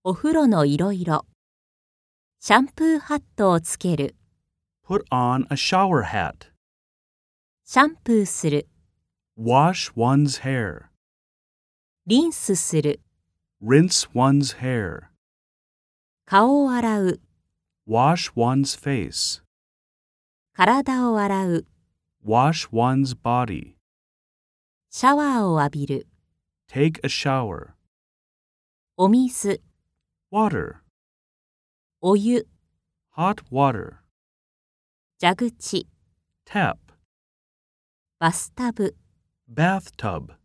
お風呂のいろいろ。シャンプーハットをつける。 Put on a shower hat. シャンプーする。 Wash one's hair. リンスする。 Rinse one's hair. 顔を洗う。 Wash one's face. 体を洗う。 Wash one's body. シャワーを浴びる。 Take a shower. お水。 Water. お湯。 Hot water. 蛇口。 Tap. バスタブ。 Bathtub.